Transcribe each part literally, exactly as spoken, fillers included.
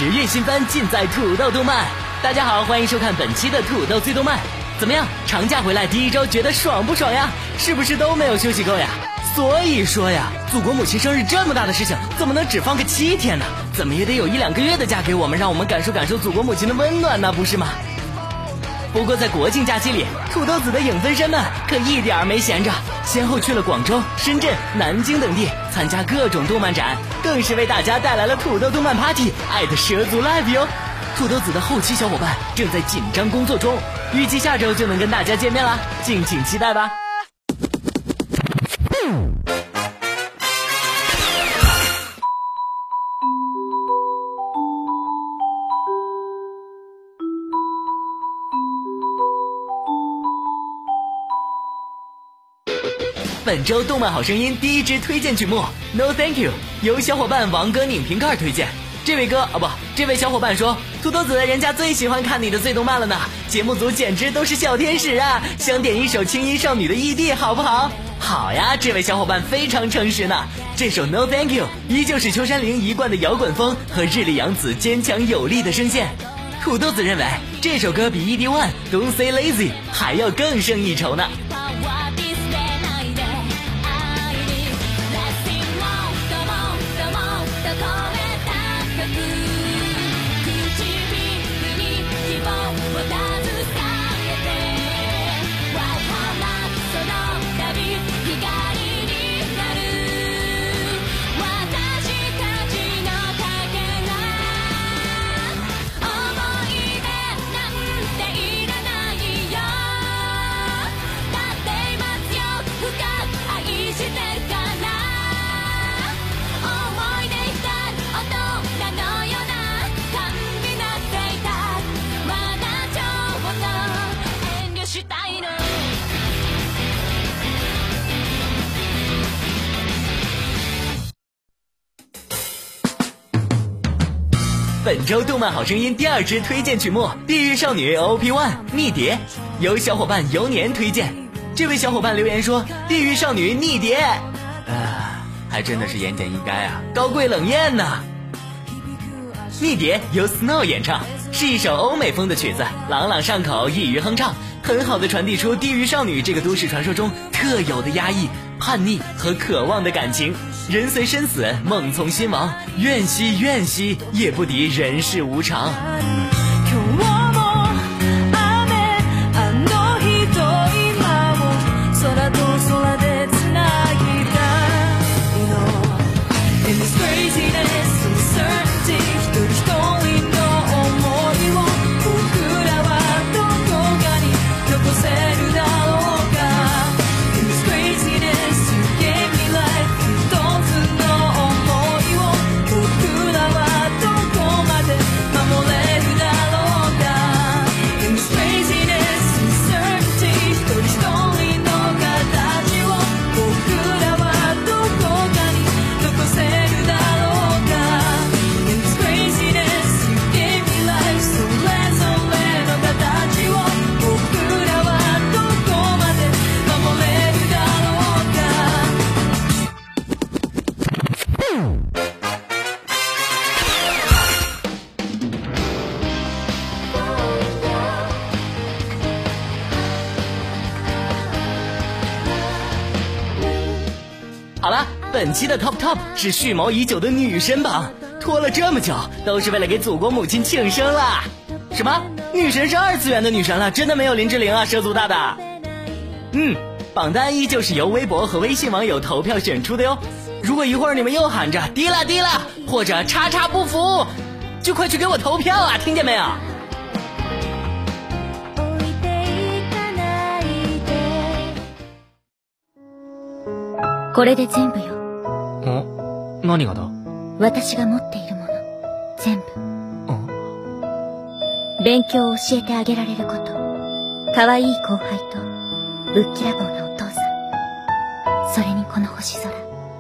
十月新番尽在土豆动漫。大家好，欢迎收看本期的土豆最动漫。怎么样，长假回来第一周觉得爽不爽呀？是不是都没有休息够呀？所以说呀，祖国母亲生日这么大的事情，怎么能只放个七天呢？怎么也得有一两个月的假给我们，让我们感受感受祖国母亲的温暖呢，不是吗？不过在国庆假期里，土豆子的影分身们可一点没闲着，先后去了广州、深圳、南京等地参加各种动漫展，更是为大家带来了土豆动漫 party， 爱的蛇足 live 哟。土豆子的后期小伙伴正在紧张工作中，预计下周就能跟大家见面啦，敬请期待吧。本周动漫好声音第一支推荐曲目 No Thank You 由小伙伴王哥拧瓶盖推荐。这位哥啊不，这位小伙伴说，土豆子人家最喜欢看你的最动漫了呢，节目组简直都是小天使啊，想点一首青衣少女的 E D 好不好？好呀，这位小伙伴非常诚实呢。这首 No Thank You 依旧是秋山绫一贯的摇滚风和日立洋子坚强有力的声线。土豆子认为这首歌比 E D One Don't Say Lazy 还要更胜一筹呢。本周动漫好声音第二支推荐曲目《地狱少女 O P One 逆蝶》，由小伙伴游年推荐。这位小伙伴留言说：“地狱少女逆蝶，啊，还真的是言简意赅啊，高贵冷艳呐、啊。”逆蝶由 Snow 演唱，是一首欧美风的曲子，朗朗上口，易于哼唱，很好的传递出地狱少女这个都市传说中特有的压抑、叛逆和渴望的感情。人随身死，梦从心亡，怨惜怨惜，也不敌人世无常。好了，本期的 Top Top 是蓄谋已久的女神榜，拖了这么久，都是为了给祖国母亲庆生啦！什么？女神是二次元的女神了？真的没有林志玲啊，蛇足大大。嗯，榜单依旧是由微博和微信网友投票选出的哟。如果一会儿你们又喊着低了低了，或者叉叉不服，就快去给我投票啊，听见没有？ これで全部よ。 ん？何がだ？ 私が持っているもの全部。勉強を教えてあげられること、可愛い後輩とぶっきらぼうなお父さん、それにこの星空。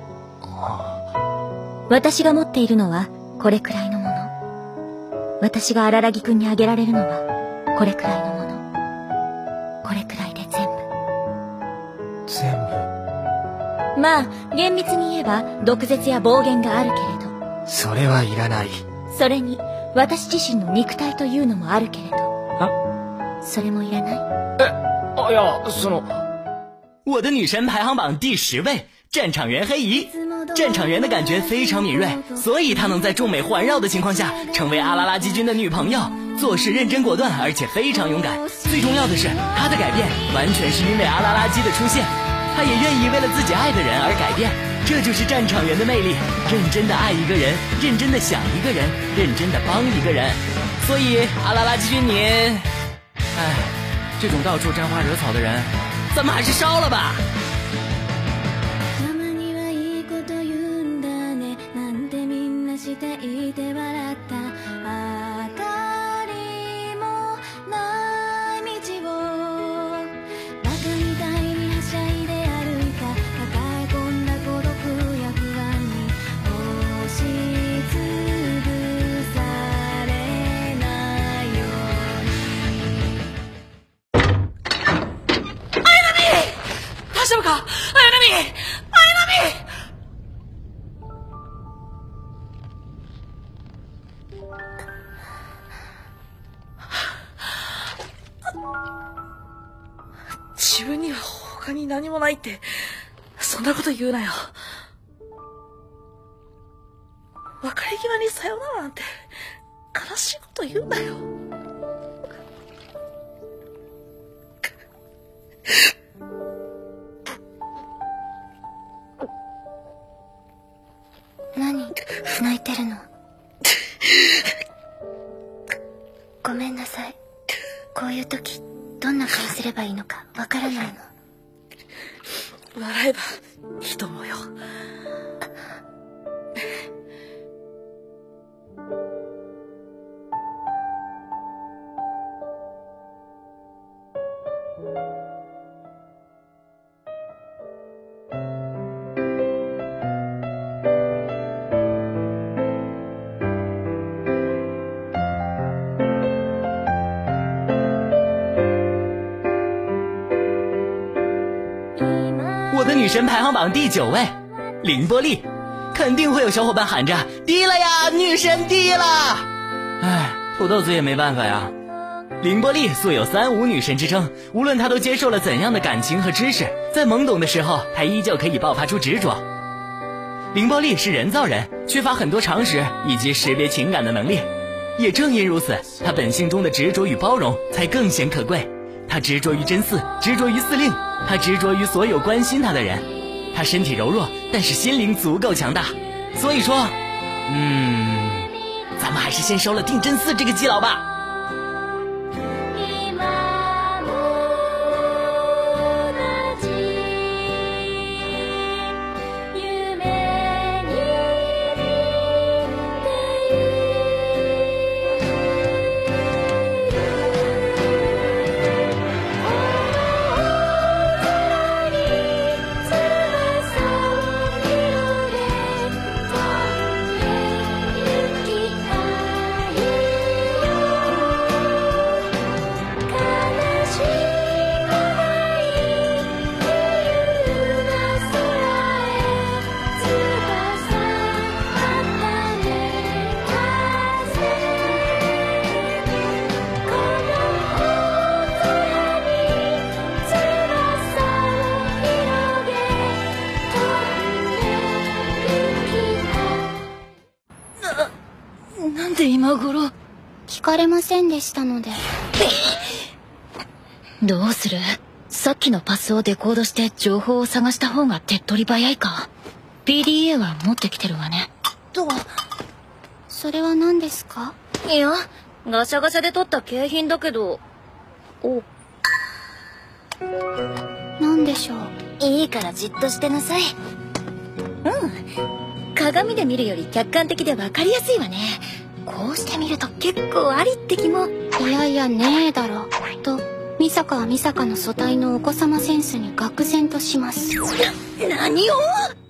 私が持っているのはこれくらいのもの。私が荒木くんにあげられるのはこれくらいのもの。これくらいで全部。 全部。 まあ厳密に言えば毒舌や暴言があるけれど、 それはいらない。 それに私自身の肉体というのもあるけれど。それもいらない？ え、哎呀，その。 我的女神排行榜第十位，战场员黑姨。战场员的感觉非常敏锐，所以她能在众美环绕的情况下成为阿拉拉基军的女朋友，做事认真果断，而且非常勇敢。最重要的是，她的改变完全是因为阿拉拉基的出现，她也愿意为了自己爱的人而改变。这就是战场员的魅力，认真的爱一个人，认真的想一个人，认真的帮一个人。所以阿拉拉基军您，哎， 这种到处沾花惹草的人， 咱们还是烧了吧。 大丈夫か？綾波！綾波！自分には他に何もないってそんなこと言うなよ。別れ際にさよならなんて悲しいこと言うなよ。 何泣いてるの？ごめんなさい。こういう時どんな顔すればいいのかわからないの。 笑えばいいと思うよ。 我的女神排行榜第九位，凌波丽。肯定会有小伙伴喊着低了呀，女神低了。唉，土豆子也没办法呀。凌波丽素有三无女神之称，无论她都接受了怎样的感情和知识，在懵懂的时候，她依旧可以爆发出执着。凌波丽是人造人，缺乏很多常识以及识别情感的能力。也正因如此，她本性中的执着与包容才更显可贵。她执着于真嗣，执着于司令，她执着于所有关心她的人。她身体柔弱，但是心灵足够强大。所以说，嗯，咱们还是先收了定真嗣这个基佬吧。 なんで今頃？ 聞かれませんでしたので。 どうする？さっきのパスをデコードして情報を探した方が手っ取り早いか。 ピーディーエー は持ってきてるわね。 とはそれは何ですか？ いや、ガシャガシャで取った景品だけど。お、 何でしょう？ いいからじっとしてなさい。うん、鏡で見るより客観的で分かりやすいわね。こうして見ると結構ありって気も。 いやいやねえだろと美坂は美坂の素体のお子様センスに愕然とします。 な、何を？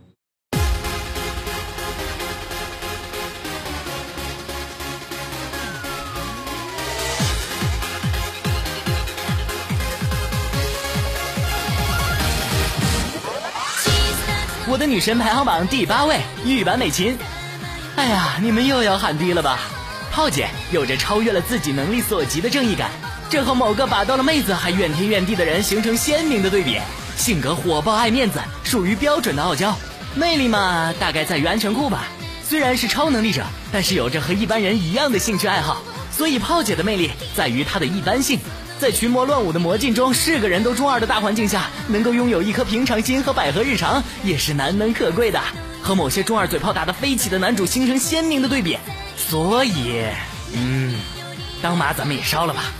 我的女神排行榜第八位，玉坂美琴。哎呀，你们又要喊低了吧？ 炮姐有着超越了自己能力所及的正义感，这和某个把到了妹子还怨天怨地的人形成鲜明的对比。性格火爆爱面子，属于标准的傲娇。魅力嘛，大概在于安全裤吧。虽然是超能力者，但是有着和一般人一样的兴趣爱好，所以炮姐的魅力在于她的一般性。在群魔乱舞的魔镜中，是个人都中二的大环境下，能够拥有一颗平常心和百合日常，也是难能可贵的，和某些中二嘴炮打得飞起的男主形成鲜明的对比。所以嗯当马咱们也烧了吧。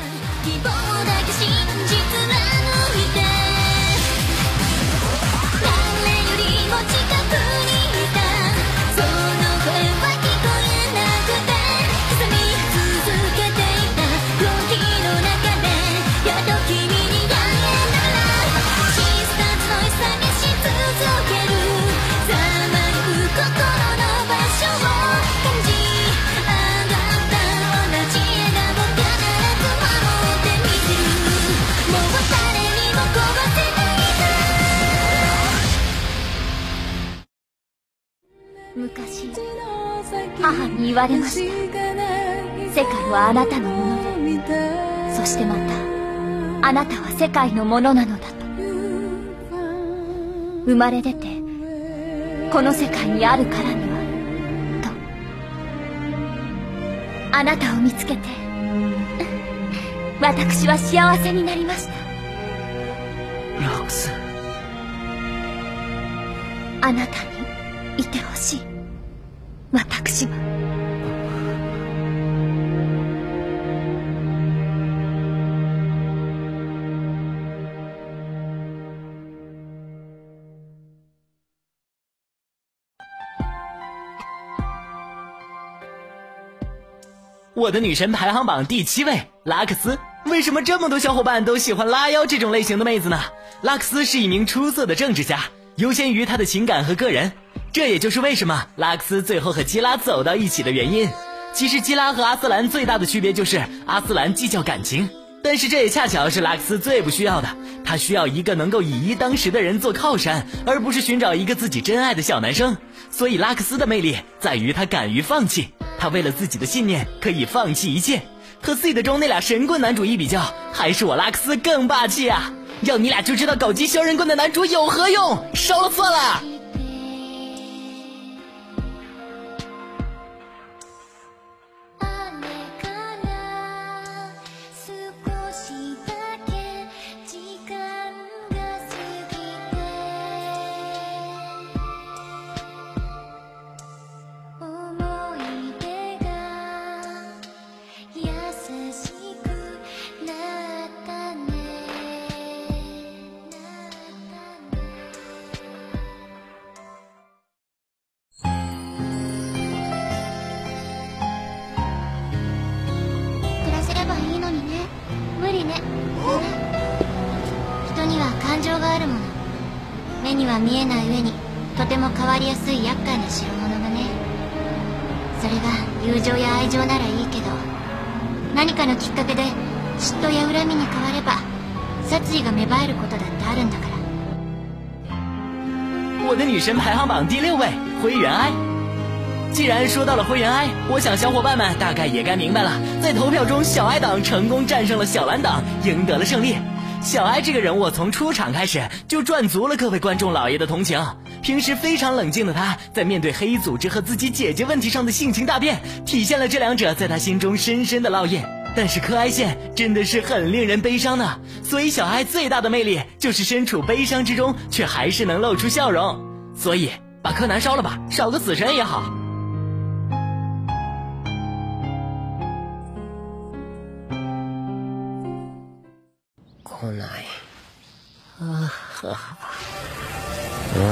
昔母に言われました。世界はあなたのもので、そしてまたあなたは世界のものなのだと。生まれ出てこの世界にあるからにはと。あなたを見つけて私は幸せになりました。 ラクス、 あなたにいてほしい。私は我的女神排行榜第七位，拉克斯。为什么这么多小伙伴都喜欢拉妖这种类型的妹子呢？拉克斯是一名出色的政治家，优先于他的情感和个人，这也就是为什么拉克斯最后和基拉走到一起的原因。其实基拉和阿斯兰最大的区别就是阿斯兰计较感情，但是这也恰巧是拉克斯最不需要的，他需要一个能够以一当十的人做靠山，而不是寻找一个自己真爱的小男生。所以拉克斯的魅力在于他敢于放弃，他为了自己的信念可以放弃一切。和 Seed 中那俩神棍男主一比较，还是我拉克斯更霸气啊！要你俩就知道搞基削人棍的男主有何用，烧了算了。 目には見えない上にとても変わりやすい厄介な代物がね。それが友情や愛情ならいいけど、何かのきっかけで嫉妬や恨みに変われば殺意が芽生えることだってあるんだから。 我的女神排行榜第六位，灰原哀。既然说到了灰原哀，我想小伙伴们大概也该明白了，在投票中小哀党成功战胜了小蓝党，赢得了胜利。小哀这个人物从出场开始就赚足了各位观众老爷的同情。平时非常冷静的他，在面对黑衣组织和自己姐姐问题上的性情大变，体现了这两者在他心中深深的烙印。但是柯哀线真的是很令人悲伤呢，所以小哀最大的魅力就是身处悲伤之中却还是能露出笑容。所以把柯南烧了吧，少个死神也好。 来ない。ああ。え？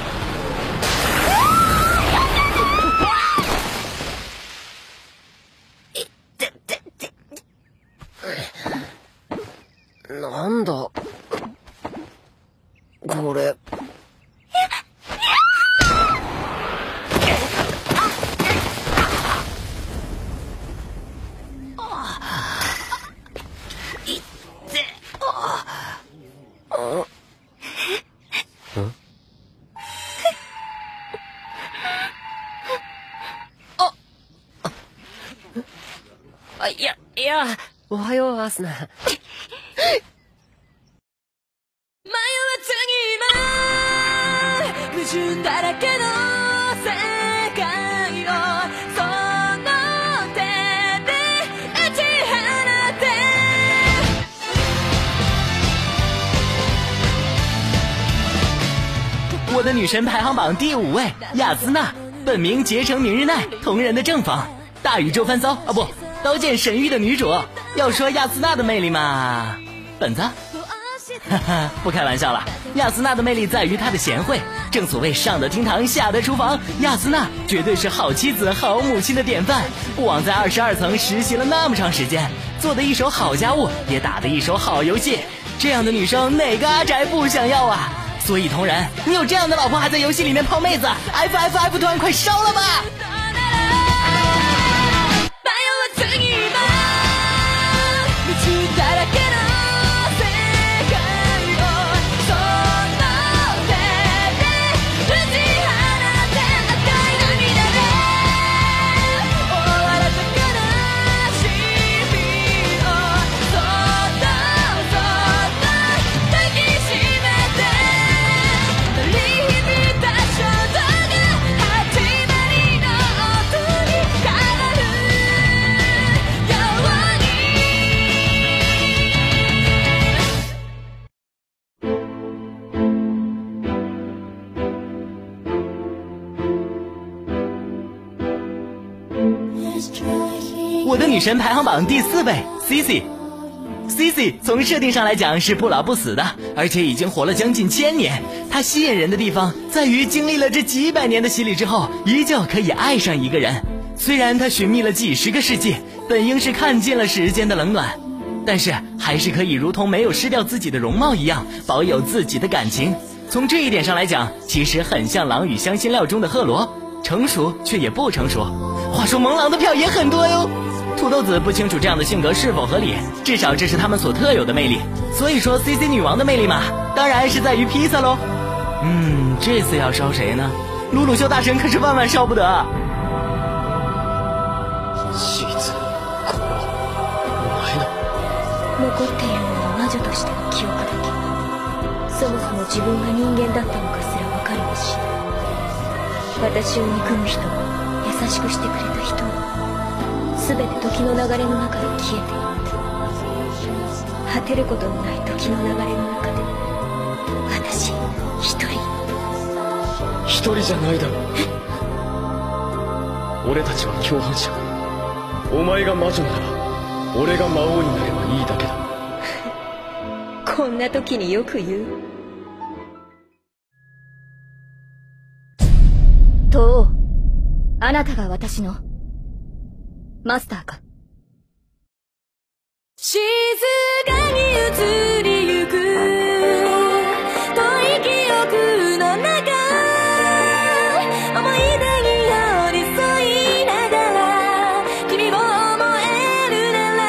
なんだこれ。 あ、いや、いや、おはよう、アスナ。 迷わずに矛盾だらけの世界をその手で打ち放て。 我的女神排行榜第五位，雅斯娜，本名结城明日奈，同人的正房，大宇宙翻骚啊不，刀剑神域的女主。要说雅斯娜的魅力嘛，本子。哈哈，不开玩笑了，雅斯娜的魅力在于她的贤惠。正所谓上得厅堂，下得厨房，雅斯娜绝对是好妻子、好母亲的典范。不枉在二十二层实习了那么长时间，做的一手好家务，也打的一手好游戏。这样的女生哪个阿宅不想要啊？所以同人，你有这样的老婆还在游戏里面泡妹子 ，F F F 团快烧了吧！我的女神排行榜第四位 C C。C C 从设定上来讲是不老不死的，而且已经活了将近千年。她吸引人的地方在于经历了这几百年的洗礼之后，依旧可以爱上一个人。虽然她寻觅了几十个世纪，本应是看尽了时间的冷暖，但是还是可以如同没有失掉自己的容貌一样，保有自己的感情。从这一点上来讲，其实很像《狼与香辛料》中的赫罗，成熟却也不成熟。话说萌狼的票也很多哟。土豆子不清楚这样的性格是否合理，至少这是他们所特有的魅力。所以说 C C 女王的魅力嘛，当然是在于披萨喽。嗯，这次要烧谁呢？鲁鲁修大神可是万万烧不得。 シーズ、これはお前の。 残っているのは魔女としての記憶だけ。そもそも自分が人間だったのかすら分かりもしない。私を憎む人も優しくしてくれた人も全て時の流れの中で消えていった。果てることのない時の流れの中で私一人一人じゃないだろう。俺たちは共犯者。お前が魔女なら俺が魔王になればいいだけだ。 こんな時によく言う。東王、あなたが私のマスターか。 静かに移りゆく遠い記憶の中、思い出に寄り添いながら君を思えるなら。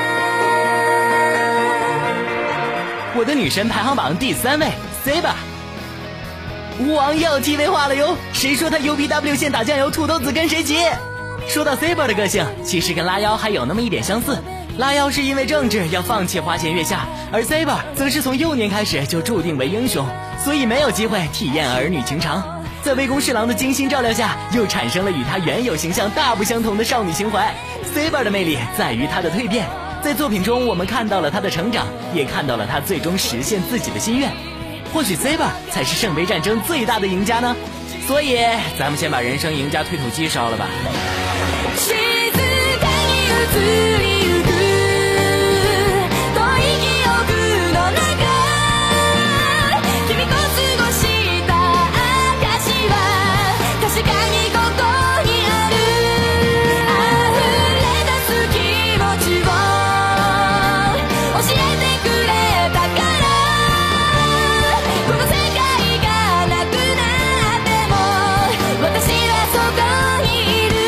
我的女神排行榜第三位 Saber。王耀 T V 化了哟，谁说他 U P W 线打酱油，土豆子跟谁急？说到 Saber 的个性，其实跟拉妖还有那么一点相似。拉妖是因为政治要放弃花前月下，而 Saber 则是从幼年开始就注定为英雄，所以没有机会体验儿女情长。在魏公侍郎的精心照料下，又产生了与他原有形象大不相同的少女情怀。Saber 的魅力在于她的蜕变，在作品中我们看到了她的成长，也看到了她最终实现自己的心愿。或许 Saber 才是圣杯战争最大的赢家呢。所以咱们先把人生赢家推土机烧了吧。 静かに移りゆく遠い記憶の中、君と過ごした証は確かにここにある。溢れ出す気持ちを教えてくれたから、この世界がなくなっても私はそこにいる。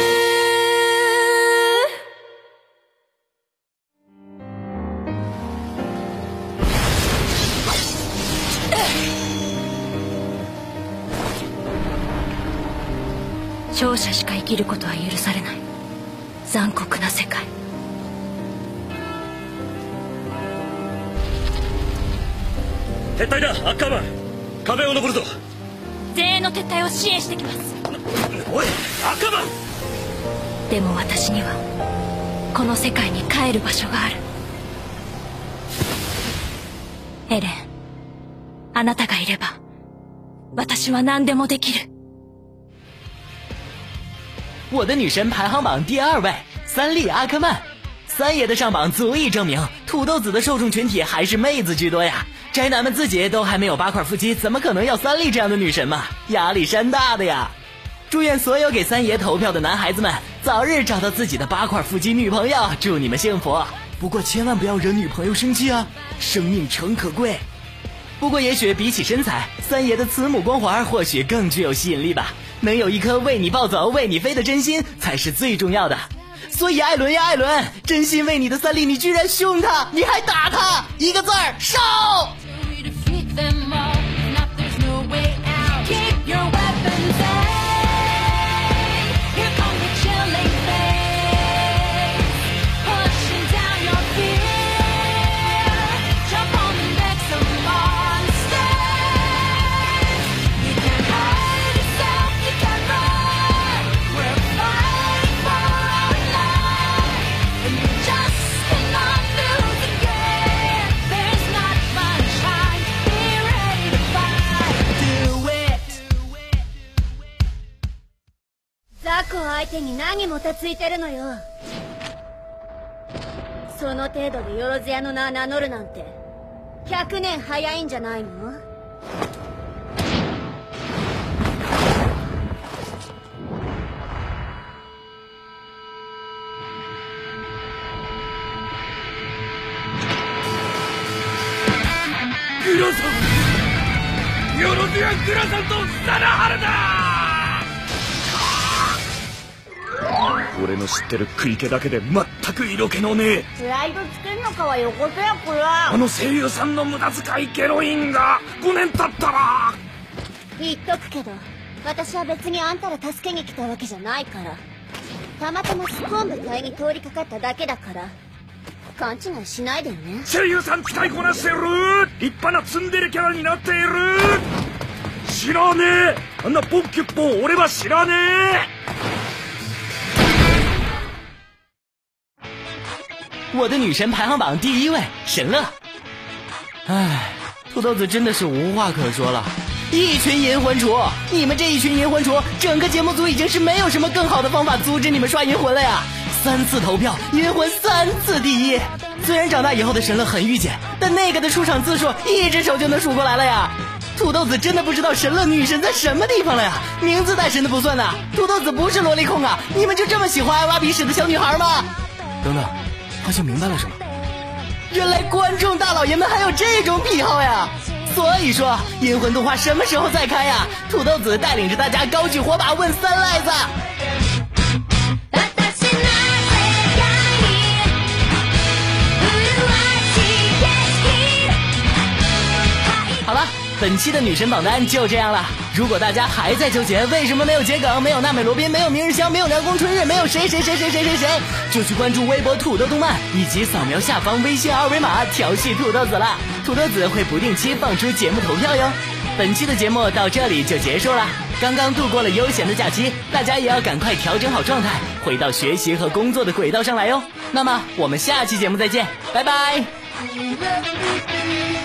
勝者しか生きることは許されない残酷な世界。 撤退だアッカーマン。壁を登るぞ。 前衛の撤退を支援してきます。 おいアッカーマン。 でも私にはこの世界に帰る場所がある。エレン、あなたがいれば私は何でもできる。 我的女神排行榜第二位，三笠阿克曼。三爷的上榜足以证明，土豆子的受众群体还是妹子居多呀。宅男们自己都还没有八块腹肌，怎么可能要三笠这样的女神嘛？压力山大的呀！祝愿所有给三爷投票的男孩子们早日找到自己的八块腹肌女朋友，祝你们幸福。不过千万不要惹女朋友生气啊，生命诚可贵。不过也许比起身材，三爷的慈母光环或许更具有吸引力吧。能有一颗为你暴走为你飞的真心才是最重要的。所以艾伦呀艾伦，真心为你的三笠你居然凶他，你还打他，一个字儿烧。 相手に何もたついてるのよ。その程度でよろずやの名名乗るなんてひゃくねん早いんじゃないの？ グラさん、よろずやグラさんとサラハルだ。俺の知ってる食い気だけで全く色気のねえ。 プライドつけんのかはよこせやこら。 あの声優さんの無駄遣いケロインがごねん経ったら。 言っとくけど私は別にあんたら助けに来たわけじゃないから。たまたまスコーン部隊に通りかかっただけだから勘違いしないでよね。 声優さん使いこなしてる。立派なツンデレキャラになっている。知らねえ、あんなポッキュッポン俺は知らねえ。 我的女神排行榜第一位神乐。唉，土豆子真的是无话可说了。一群银魂厨，你们这一群银魂厨，整个节目组已经是没有什么更好的方法阻止你们刷银魂了呀。三次投票，银魂三次第一。虽然长大以后的神乐很御姐，但那个的出场次数一只手就能数过来了呀。土豆子真的不知道神乐女神在什么地方了呀，名字带神的不算呐。土豆子不是萝莉控啊，你们就这么喜欢爱挖鼻屎的小女孩吗？等等，好像明白了什么。原来观众大老爷们还有这种癖好呀！所以说，银魂动画什么时候再开呀？土豆子带领着大家高举火把问三赖子。好了，本期的女神榜单就这样了。如果大家还在纠结为什么没有桔梗，没有娜美罗宾，没有明日香，没有凉宫春日，没有谁谁谁谁谁谁谁，就去关注微博土豆动漫，以及扫描下方微信二维码调戏土豆子了。土豆子会不定期放出节目投票哟。本期的节目到这里就结束了。刚刚度过了悠闲的假期，大家也要赶快调整好状态，回到学习和工作的轨道上来哟。那么我们下期节目再见，拜拜。